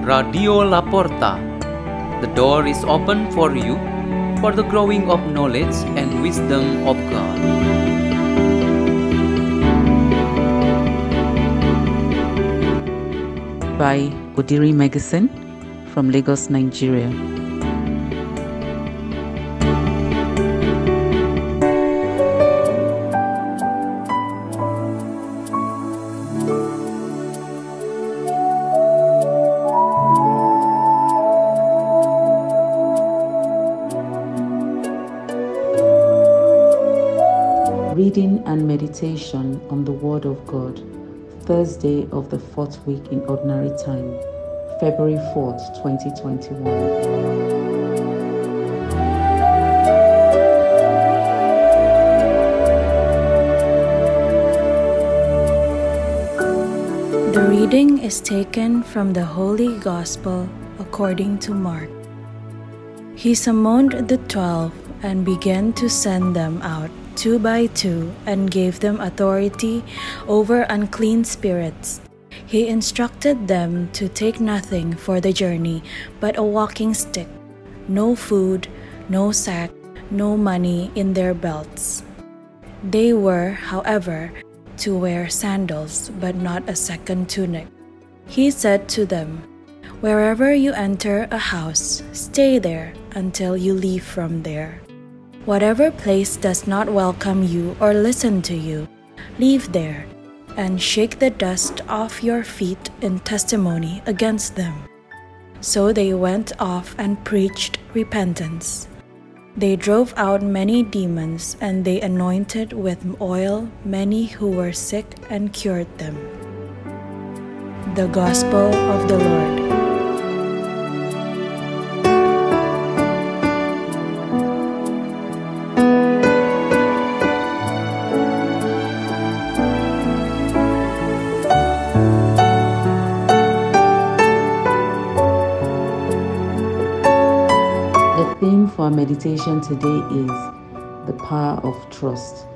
Radio Laporta. The door is open for you for the growing of knowledge and wisdom of God. By Odiri Magazine from Lagos, Nigeria. Reading and meditation on the Word of God, Thursday of the 4th week in Ordinary Time, February 4th, 2021. The reading is taken from the Holy Gospel according to Mark. He summoned the 12 and began to send them out 2 by 2 and gave them authority over unclean spirits. He instructed them to take nothing for the journey but a walking stick, no food, no sack, no money in their belts. They were, however, to wear sandals but not a second tunic. He said to them, "Wherever you enter a house, stay there until you leave from there. Whatever place does not welcome you or listen to you, leave there, and shake the dust off your feet in testimony against them." So they went off and preached repentance. They drove out many demons, and they anointed with oil many who were sick and cured them. The Gospel of the Lord. The theme for our meditation today is the power of trust.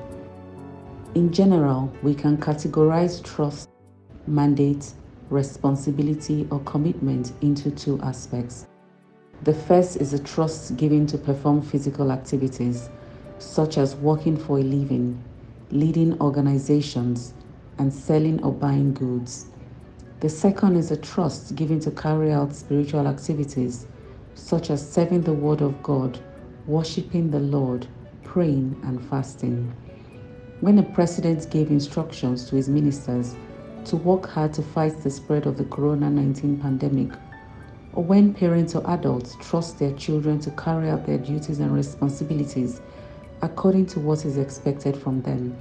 In general, we can categorize trust, mandate, responsibility, or commitment into 2 aspects. The first is a trust given to perform physical activities, such as working for a living, leading organizations, and selling or buying goods. The second is a trust given to carry out spiritual activities, such as serving the Word of God, worshiping the Lord, praying, and fasting. When a president gave instructions to his ministers to work hard to fight the spread of the COVID-19 pandemic, or when parents or adults trust their children to carry out their duties and responsibilities according to what is expected from them,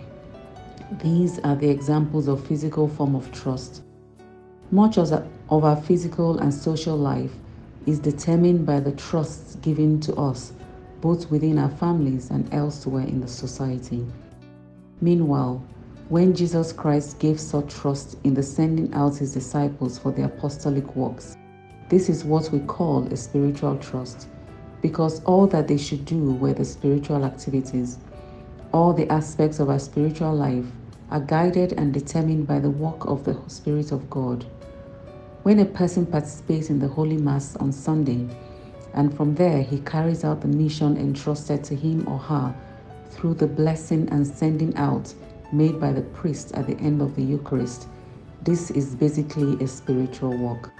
these are the examples of physical form of trust. Much of our physical and social life is determined by the trusts given to us, both within our families and elsewhere in the society. Meanwhile, when Jesus Christ gave such trust in the sending out his disciples for the apostolic works, this is what we call a spiritual trust, because all that they should do were the spiritual activities. All the aspects of our spiritual life are guided and determined by the work of the Spirit of God. When a person participates in the Holy Mass on Sunday, and from there he carries out the mission entrusted to him or her through the blessing and sending out made by the priest at the end of the Eucharist, this is basically a spiritual work.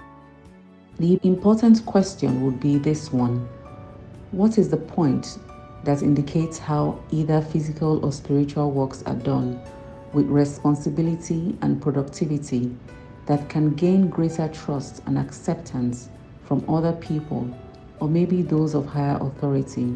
The important question would be this one: what is the point that indicates how either physical or spiritual works are done with responsibility and productivity that can gain greater trust and acceptance from other people, or maybe those of higher authority?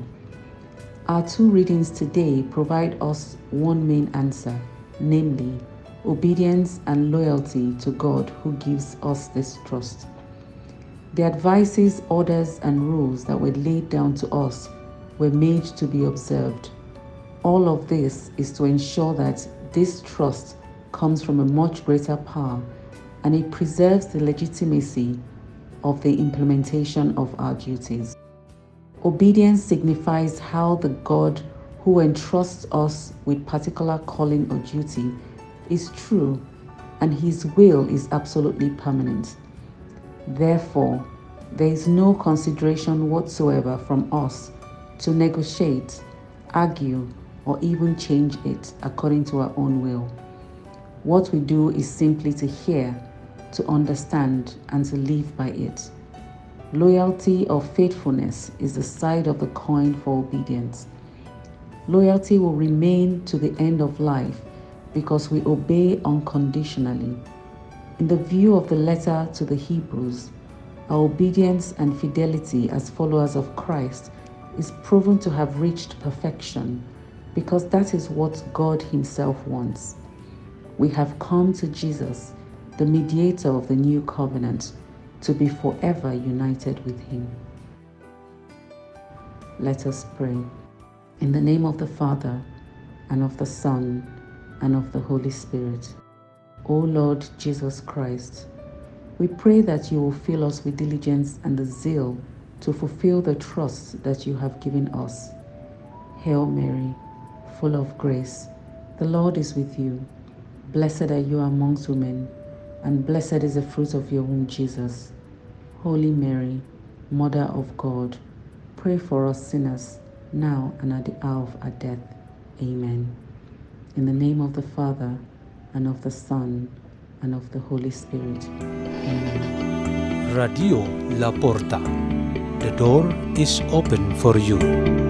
Our 2 readings today provide us one main answer, namely, obedience and loyalty to God who gives us this trust. The advices, orders, and rules that were laid down to us were made to be observed. All of this is to ensure that this trust comes from a much greater power, and it preserves the legitimacy of the implementation of our duties. Obedience signifies how the God who entrusts us with particular calling or duty is true, and his will is absolutely permanent. Therefore, there is no consideration whatsoever from us to negotiate, argue, or even change it according to our own will. What we do is simply to hear, to understand, and to live by it. Loyalty or faithfulness is the side of the coin for obedience. Loyalty will remain to the end of life because we obey unconditionally. In the view of the letter to the Hebrews, our obedience and fidelity as followers of Christ is proven to have reached perfection because that is what God Himself wants. We have come to Jesus, the mediator of the new covenant, to be forever united with Him. Let us pray. In the name of the Father, and of the Son, and of the Holy Spirit. O Lord Jesus Christ, we pray that you will fill us with diligence and the zeal to fulfill the trust that you have given us. Hail Mary, full of grace, the Lord is with you. Blessed are you amongst women, and blessed is the fruit of your womb, Jesus. Holy Mary, Mother of God, pray for us sinners, now and at the hour of our death. Amen. In the name of the Father, and of the Son, and of the Holy Spirit. Amen. Radio La Porta. The door is open for you.